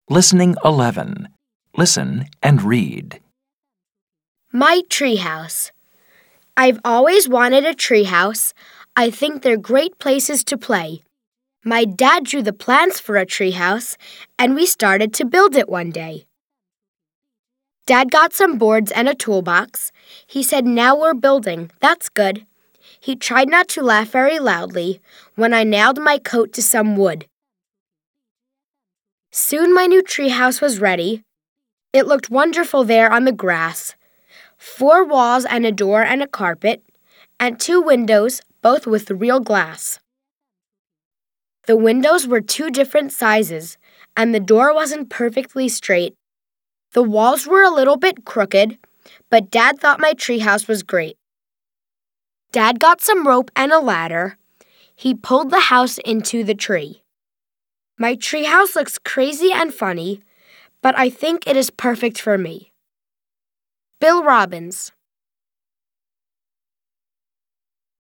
Listening 11. Listen and read. My treehouse. I've always wanted a treehouse. I think they're great places to play. My dad drew the plans for a treehouse, and we started to build it one day. Dad got some boards and a toolbox. He said, "Now we're building. That's good." He tried not to laugh very loudly when I nailed my coat to some wood. Soon my new treehouse was ready. It looked wonderful there on the grass. 4 walls and a door and a carpet, and 2 windows, both with real glass. The windows were 2 different sizes, and the door wasn't perfectly straight. The walls were a little bit crooked, but Dad thought my treehouse was great. Dad got some rope and a ladder. He pulled the house into the tree. My treehouse looks crazy and funny, but I think it is perfect for me. Bill Robbins.